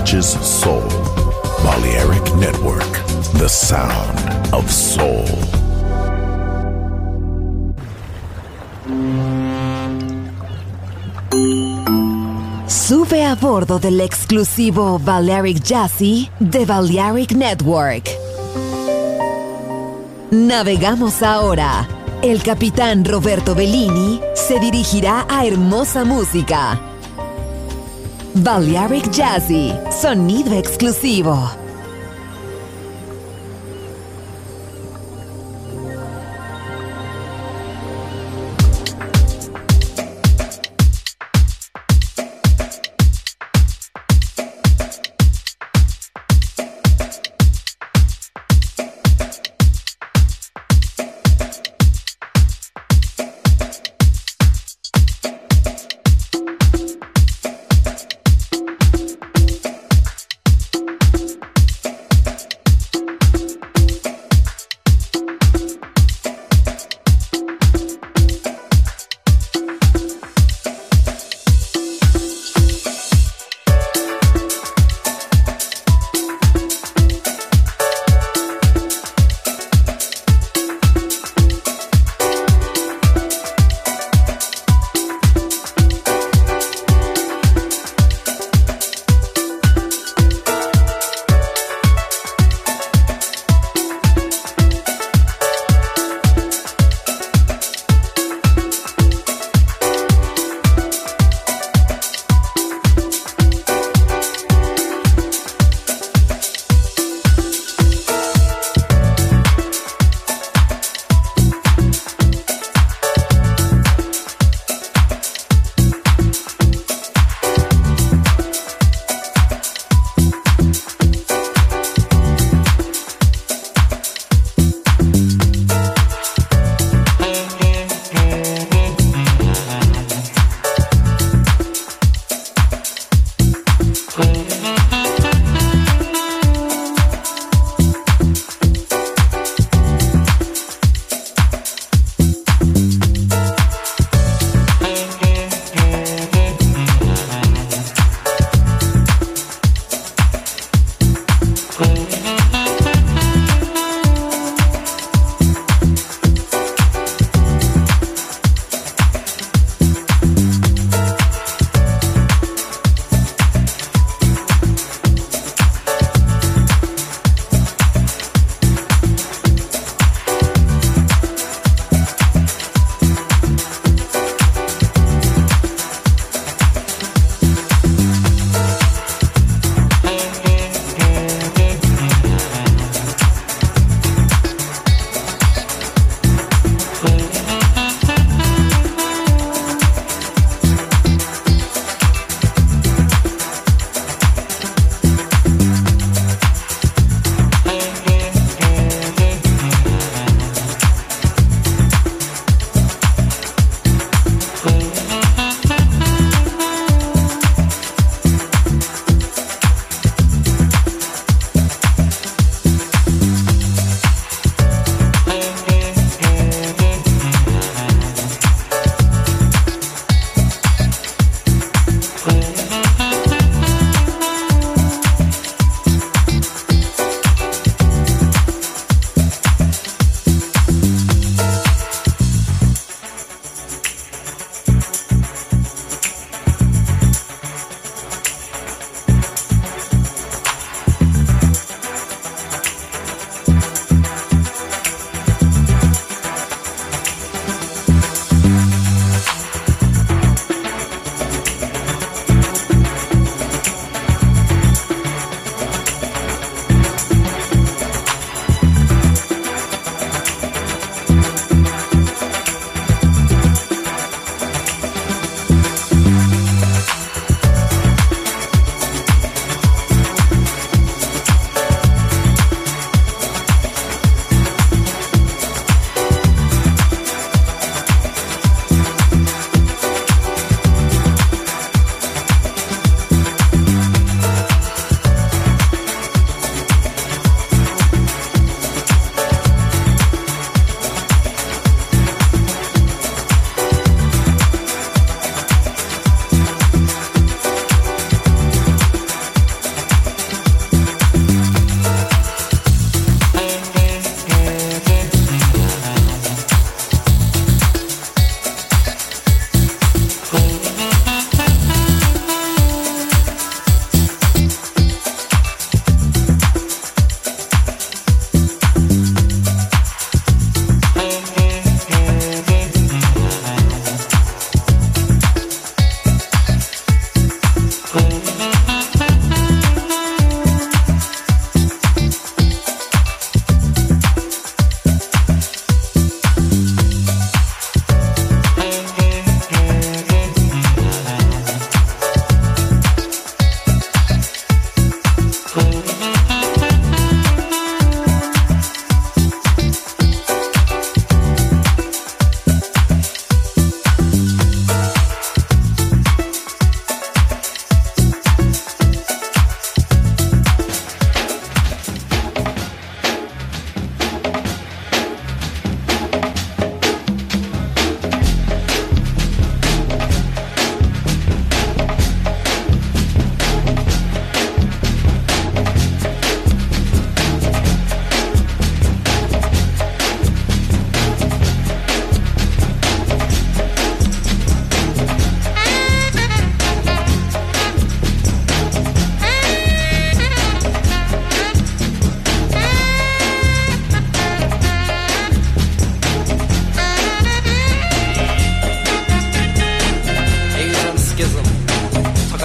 touches soul. Balearic Network, the sound of soul. Sube a bordo del exclusivo Balearic Jazzy de Balearic Network. Navegamos ahora. El capitán Roberto Bellini se dirigirá a hermosa música. Balearic Jazzy, sonido exclusivo.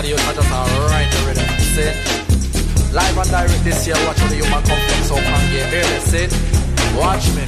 the youth are just right the rhythm. See? Live and direct this year, watch how the human come from so can get here. See? Watch me.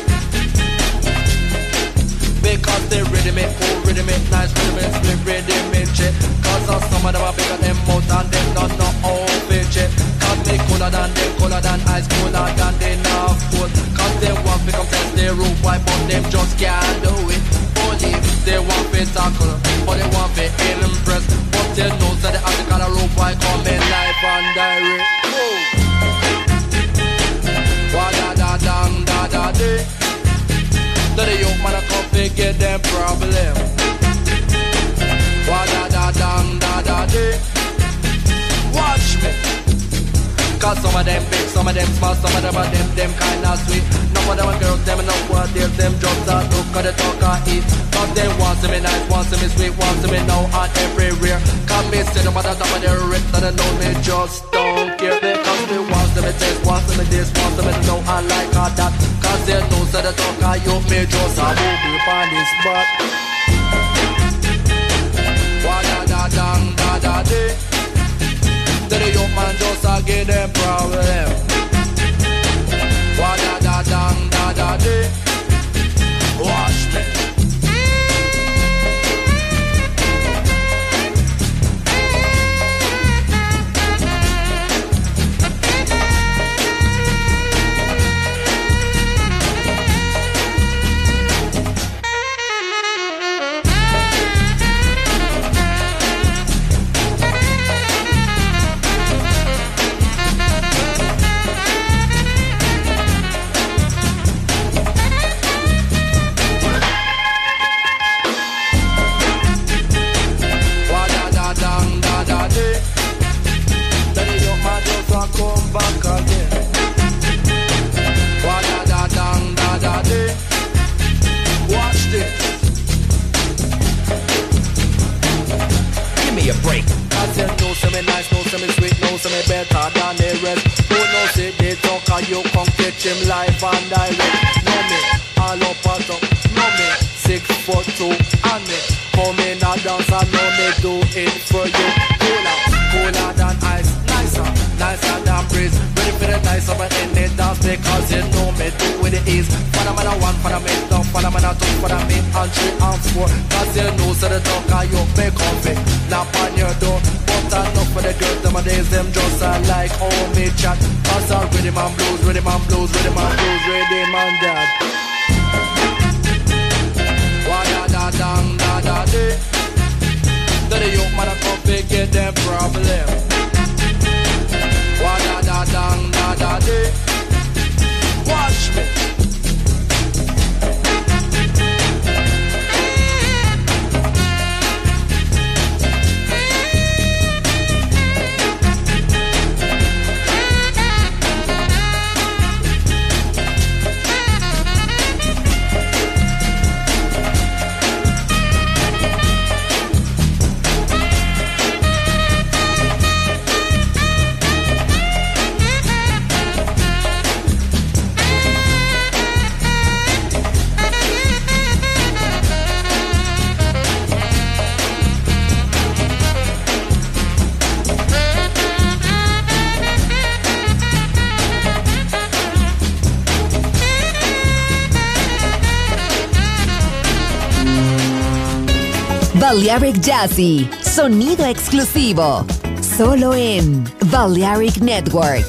Because they rhythm it, cool rhythm it, nice rhythm it, split rhythm it, shit. Cause some of them are bigger than mouth and them don't know how fit, shit. Cause they cooler than them, cooler than ice, cooler than they not food. Cause they want to come test their roof, why but them just can't do it. Only they want to tackle, but they want to impress. But they know that the article of roof, why come in live and direct. Wah da da dang da da day. Let the young man come figure them problem. Wah da da dang da da day. Watch me. Cause some of them big, some of them small, some of them are them kinda sweet. None of them are girls, them know what they're them just a look at the talk and eat. Cause they want to me nice, want to me sweet, want to me now and everywhere. Cause me see them at the top of their wrist and they know me just don't care. Because they want to me taste, want to me this, want to me know and like all that. Cause they know so the talk and you me just a move up on this spot. Wah da da dang da da day. Then the young man just a give them problem. Wah da da dang da da day. Watch me. Come back again. Wah da da dang da da day. Watch this. Give me a break. Cause you know some me nice, know some me sweet, know some me better than the rest. Who knows say they talk and you come catch him live and direct. Know me, all up and up. Know me, 6'2" and me come in a dance and know me do it for you. Cooler, cooler than ice, nicer, nicer than breeze. Ready for the nice of in the dance because you know me do with the ease. For the man a one, for the man two, for the man a two, for the man and three and four. Cause you know so the talk and you make comfy. Knock on your door, but enough for the girls them days them just like how me chat. Cause I rhythm and blues, rhythm and blues, rhythm and blues, rhythm and that. Wah da da dang da da day. Then the young man a come figure them problem. Wah da da dang da da day. Watch me. Balearic Jazzy, sonido exclusivo, solo en Balearic Network.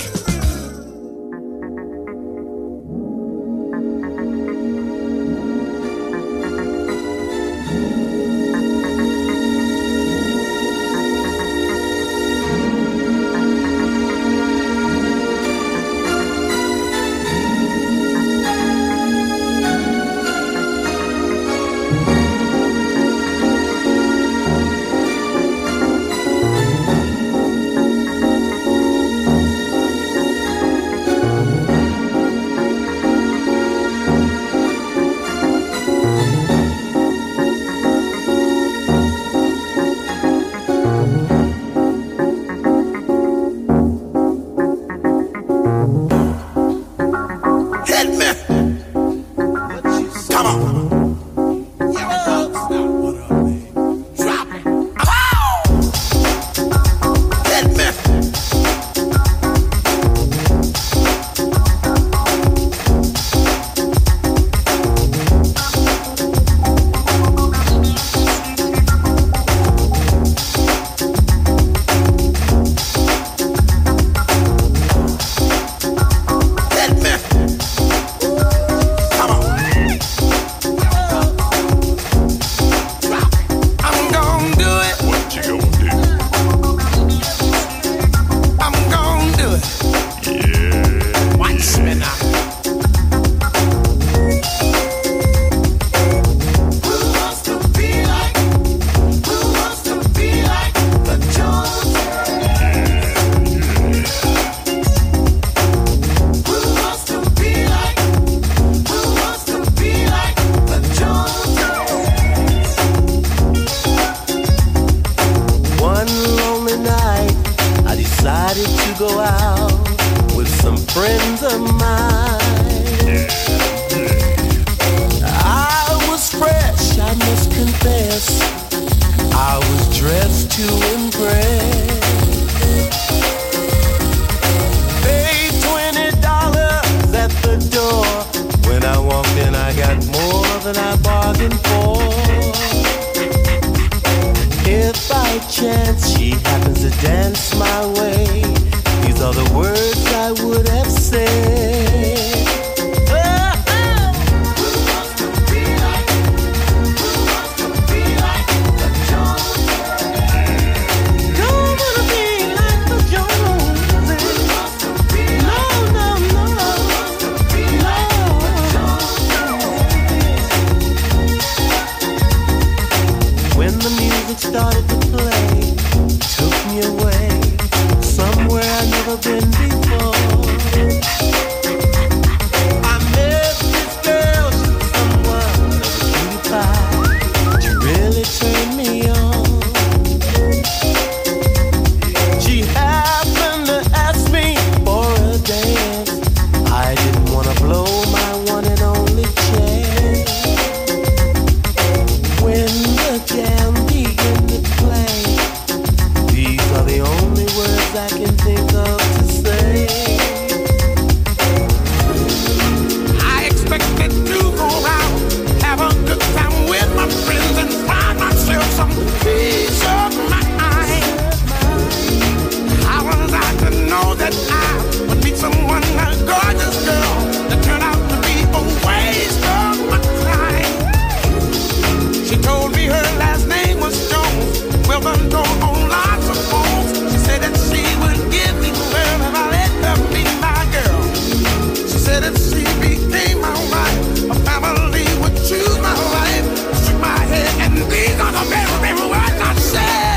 decided to go out with some friends of mine. I was fresh, I must confess. I was dressed to impress. Paid $20 at the door. When I walked in, I got more than I bargained for. If by chance she happens to dance my way, these are the words I would have said. Started to play, took me away somewhere I've never been before. I met this girl, she was someone of a cutie pie. She really turned me on. She happened to ask me for a dance. I didn't want to blow my one and only chance. When the jam the only words I can think of to say. I expected to go out, have a good time with my friends, and find myself some peace of mind. How was I to know that I would meet someone, a gorgeous girl, that turned out to be a waste of my time? She told me her last name was Jones. Well, done told on lots of phones. She said that she would give me the world if I let her be my girl. She said that she became my wife, a family would choose my life. I shook my head and these are the very, very words I said.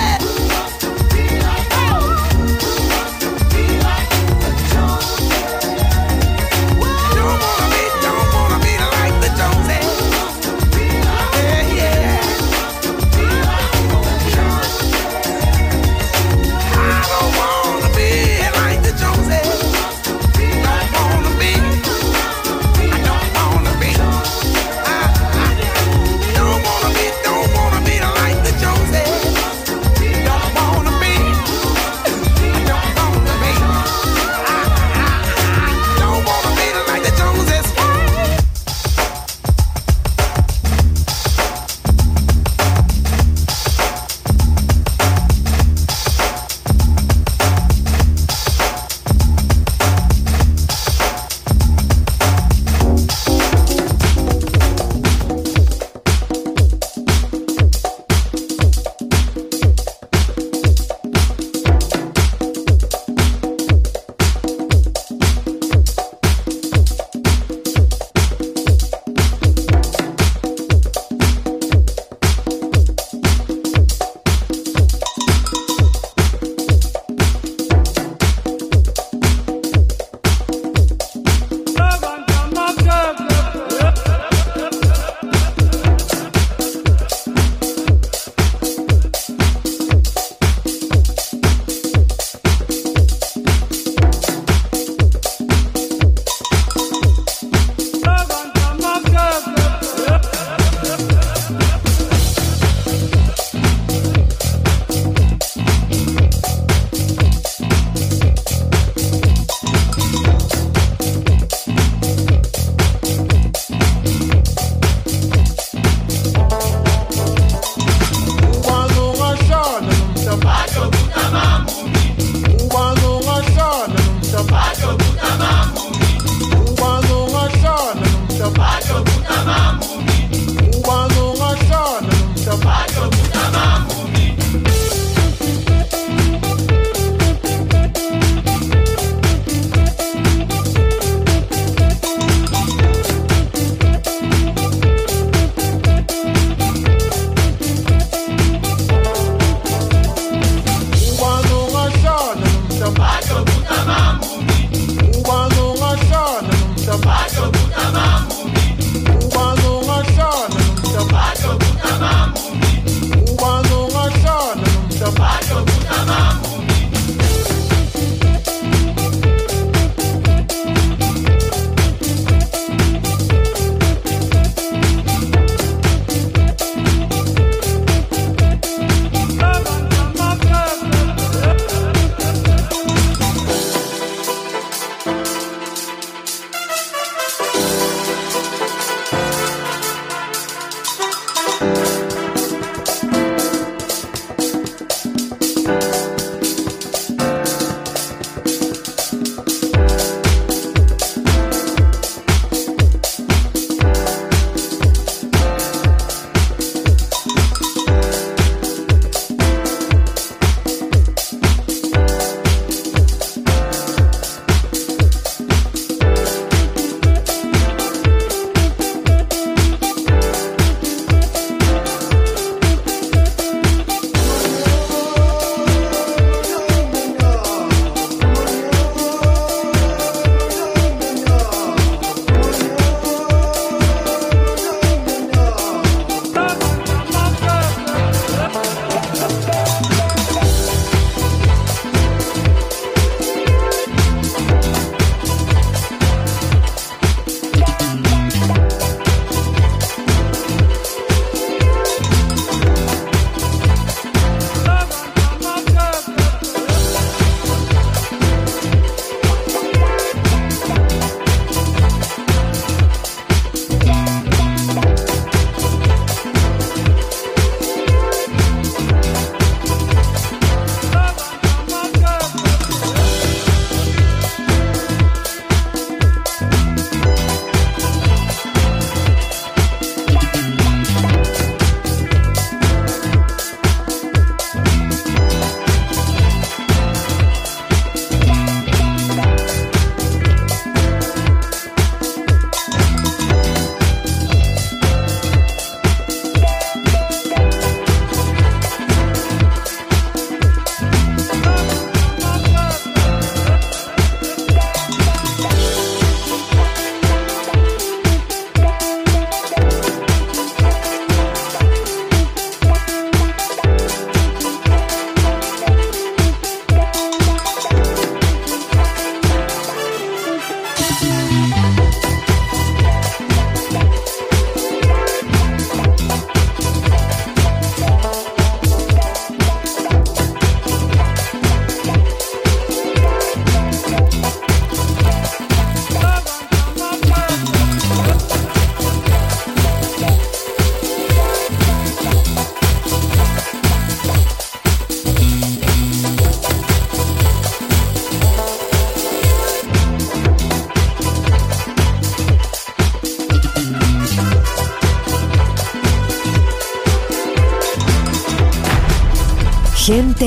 Don't wanna be like the Joneses. Yeah, yeah. I don't wanna be like the Joneses. Don't wanna be. I don't wanna be. I don't wanna be like the Joneses. Don't wanna be. I don't wanna be. I don't wanna be like the Joneses.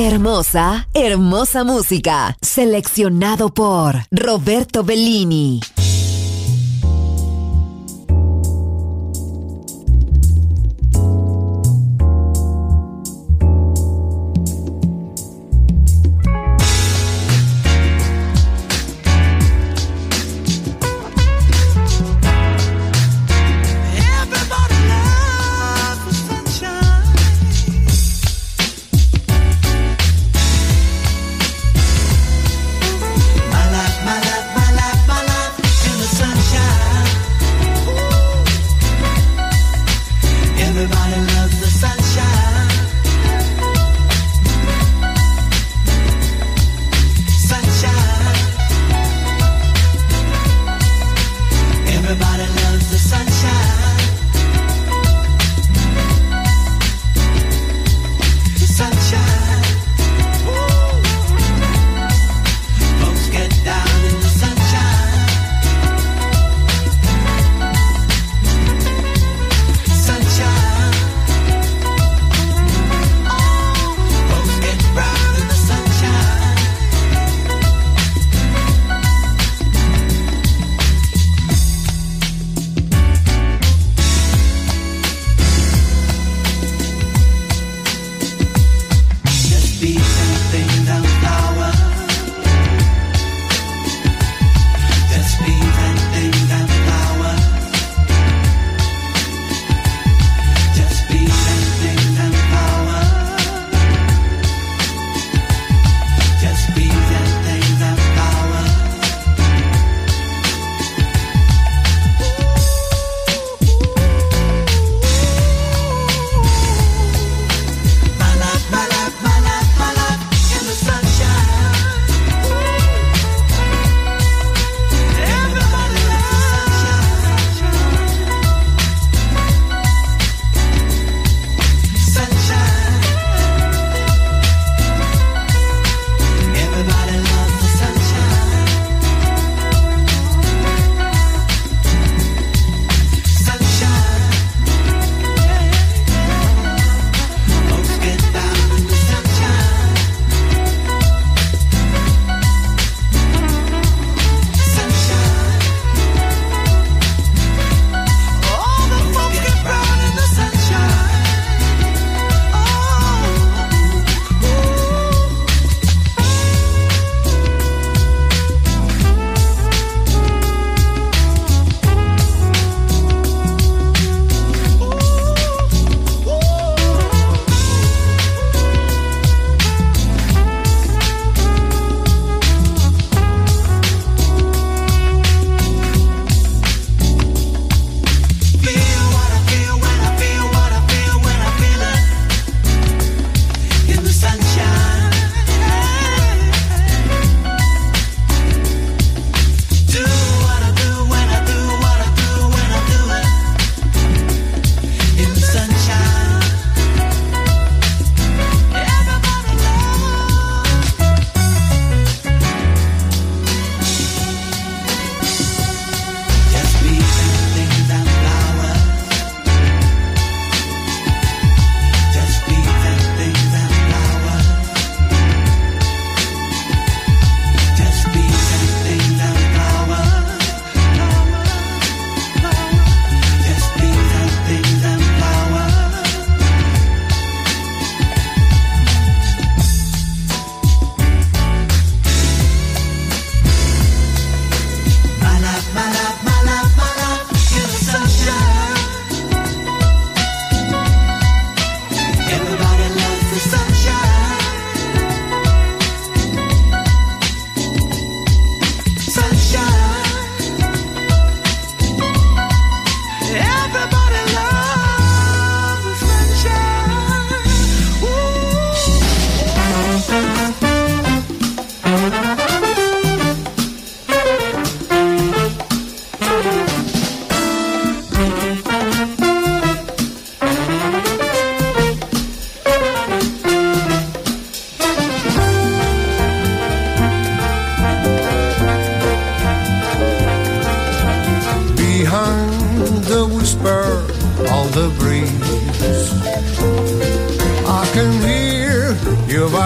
Hermosa, hermosa música. Seleccionado por Roberto Bellini.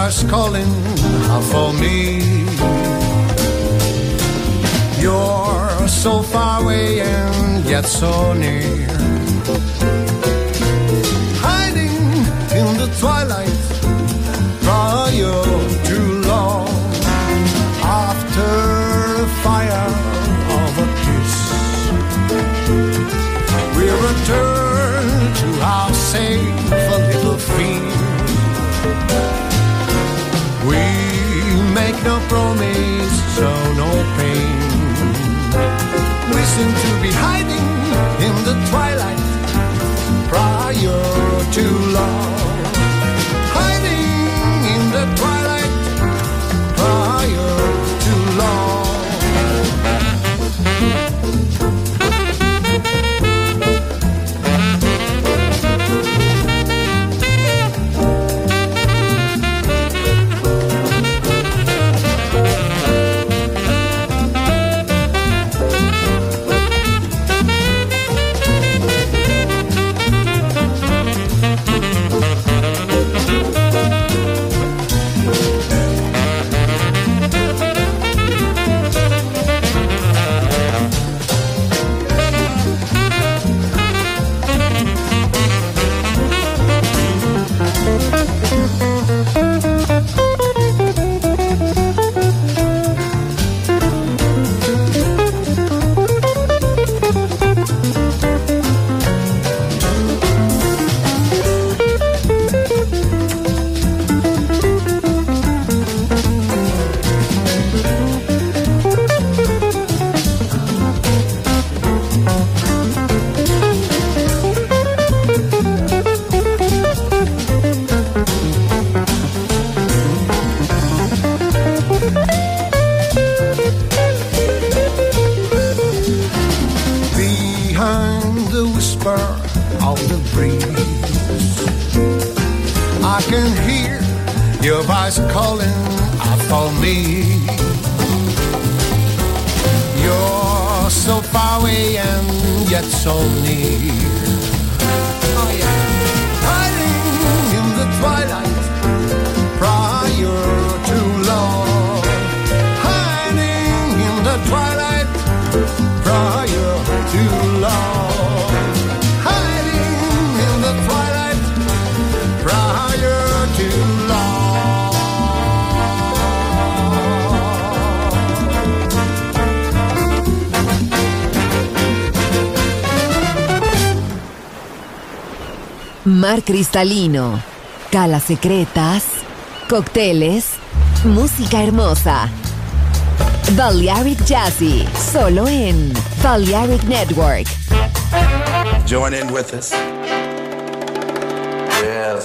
voice calling out for me. You're so far away and yet so near, hiding in the twilight prior to long. After the fire of a kiss, we return to our safe little field. We make no promise, so no pain. We seem to be hiding in the twilight prior to long. Hiding in the twilight prior to long. Calling out for me. You're so far away and yet so near. Oh yeah, hiding in the twilight prior to long. Hiding in the twilight prior to long. Hiding in the twilight prior to long. Mar cristalino, calas secretas, cócteles, música hermosa. Balearic Jazzy, solo en Balearic Network. Join in with us. Yes.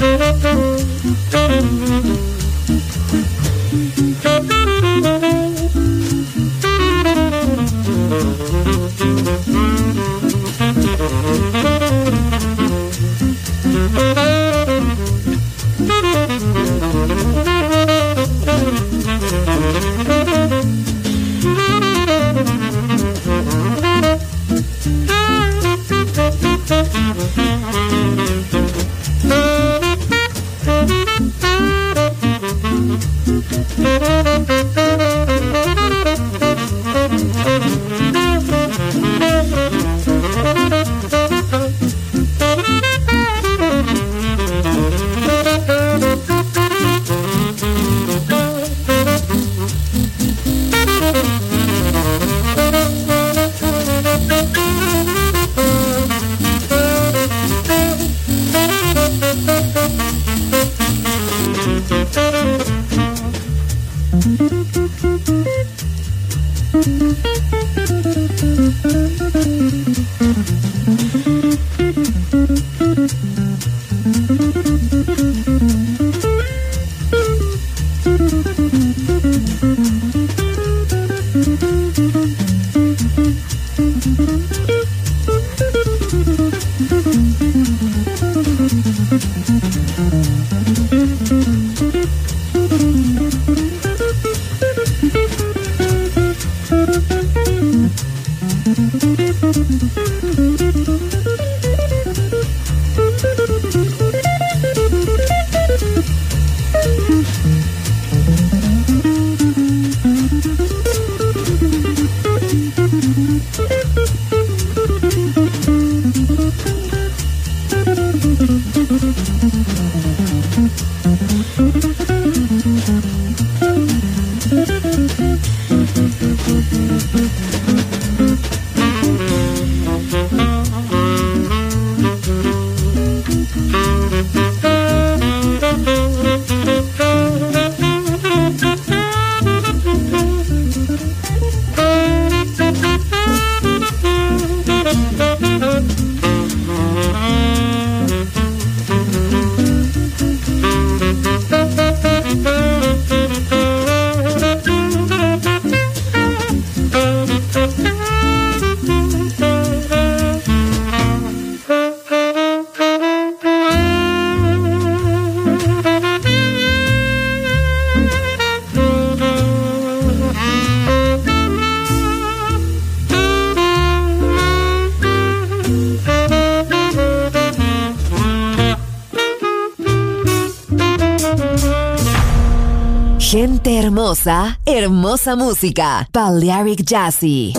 Gente hermosa, hermosa música. Balearic Jazzy.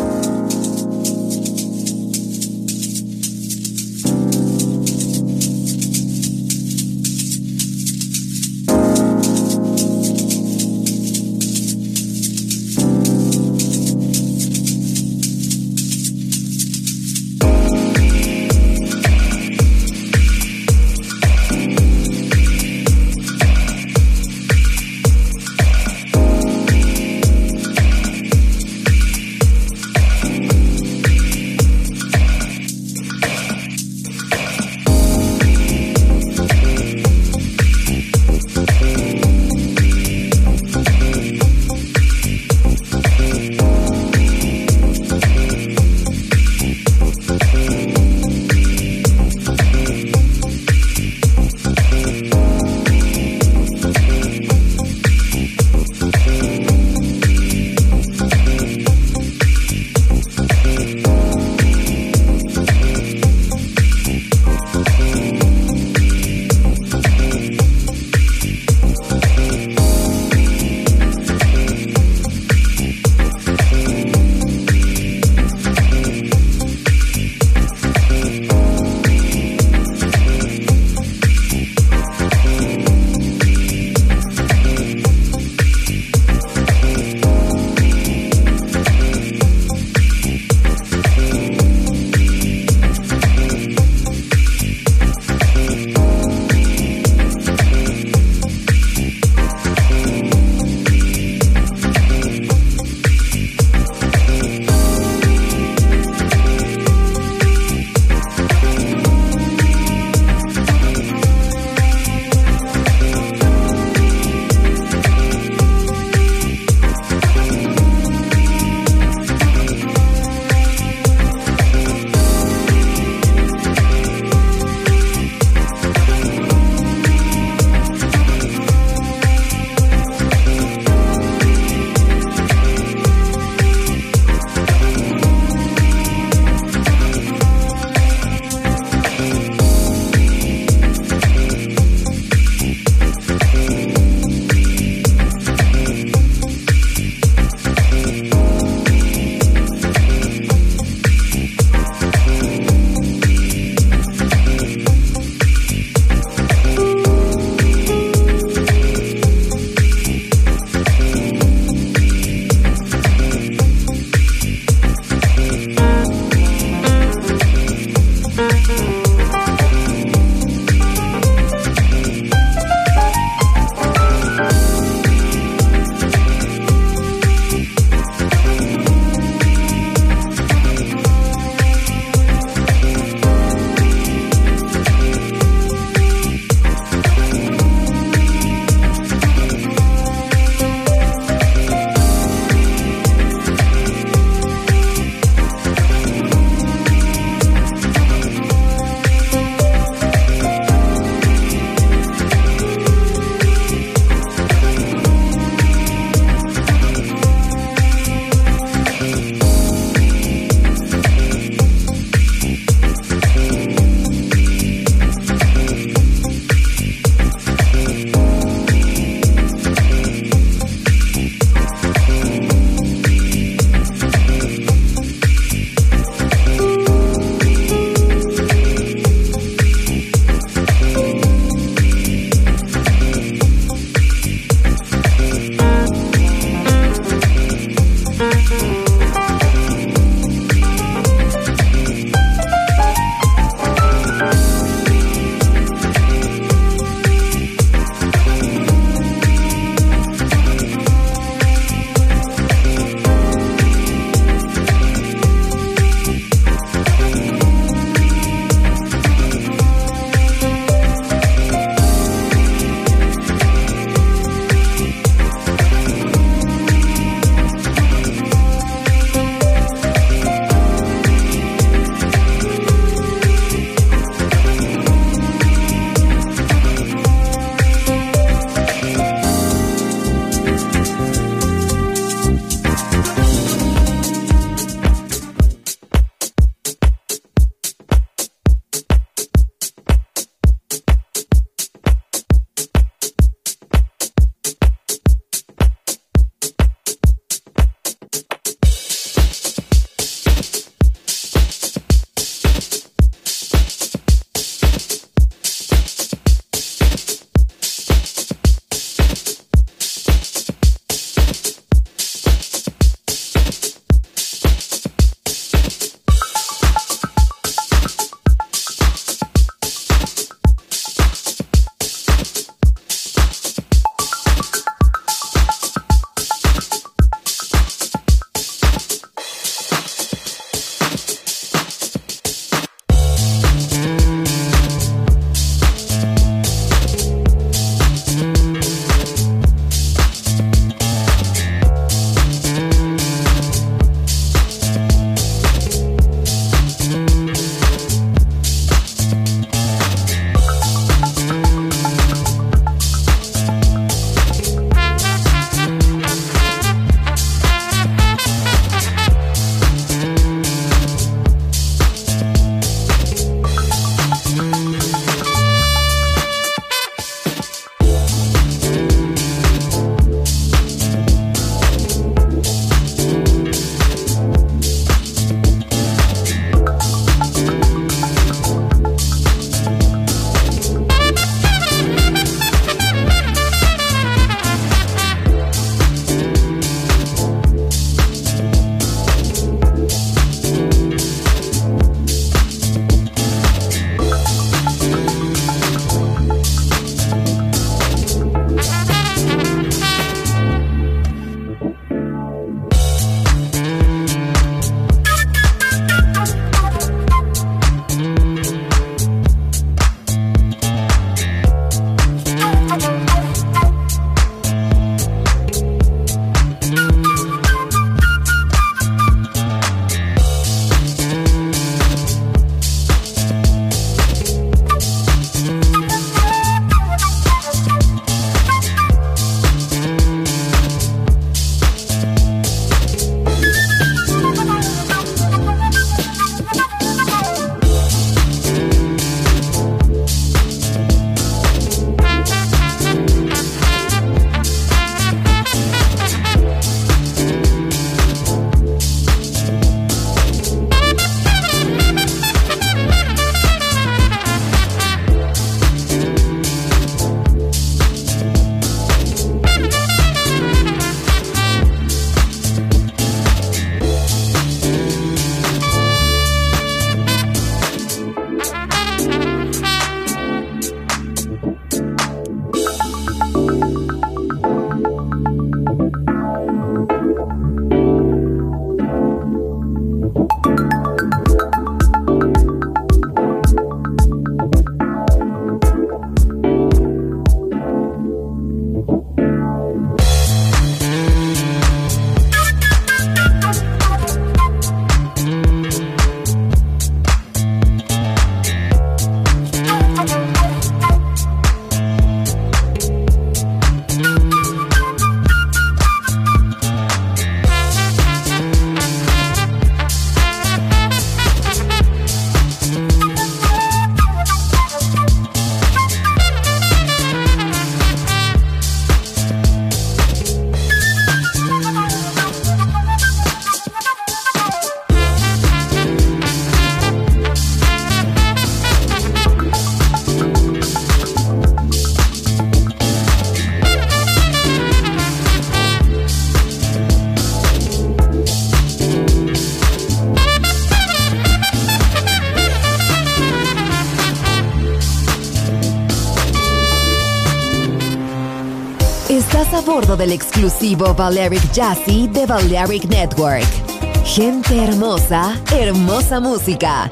Estás a bordo del exclusivo Balearic Jazzy de Balearic Network. Gente hermosa, hermosa música.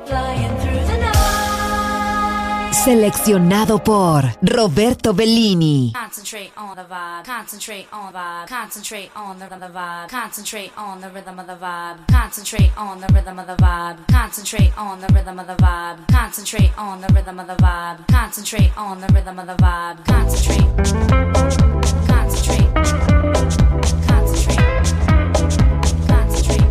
Seleccionado por Roberto Bellini. Concentrate on the vibe. Concentrate on the vibe. Concentrate on the vibe. Concentrate on the rhythm of the vibe. Concentrate on the rhythm of the vibe. Concentrate on the rhythm of the vibe. Concentrate on the rhythm of the vibe. Concentrate on the rhythm of the vibe. Concentrate. Concentrate. Concentrate. Concentrate.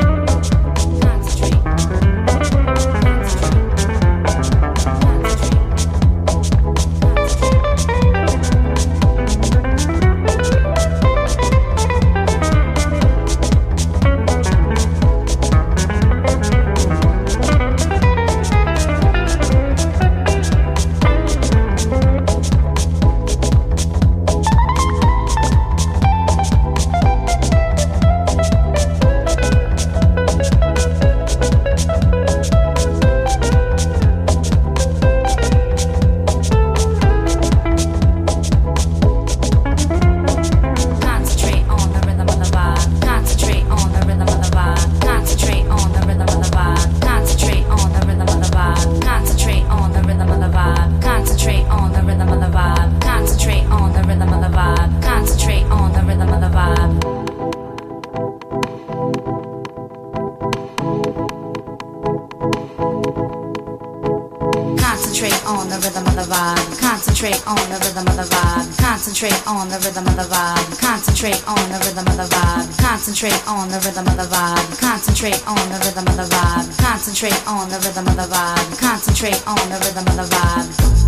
Concentrate on the rhythm of the vibe. Concentrate on the rhythm of the vibe. Concentrate on the rhythm of the vibe. Concentrate on the rhythm of the vibe. Concentrate on the rhythm of the vibe. Concentrate on the rhythm of the vibe.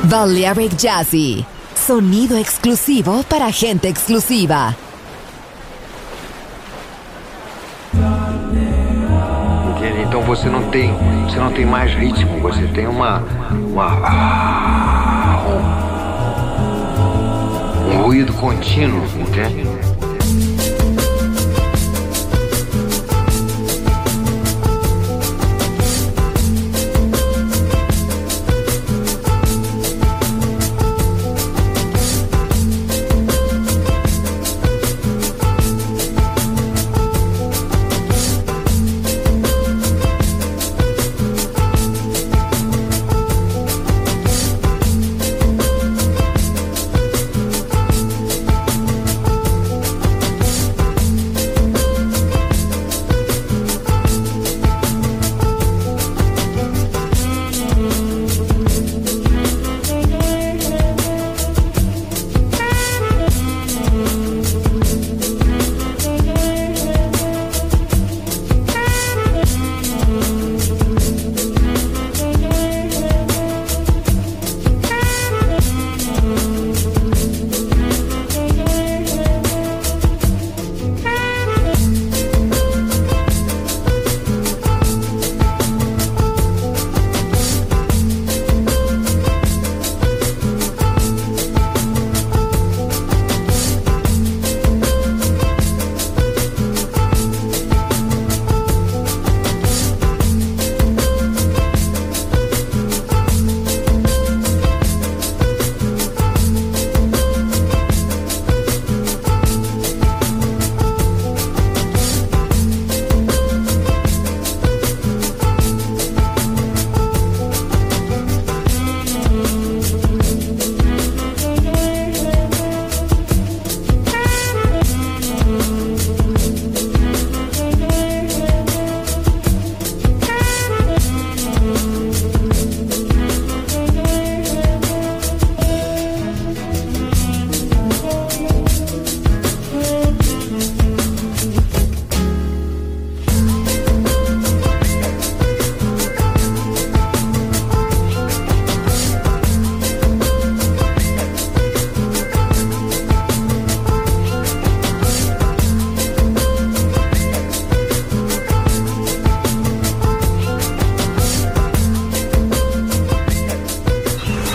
Balearic Jazzy. Sonido exclusivo para gente exclusiva. Entende? Então você não tem mais ritmo, você tem um ruído contínuo, entende?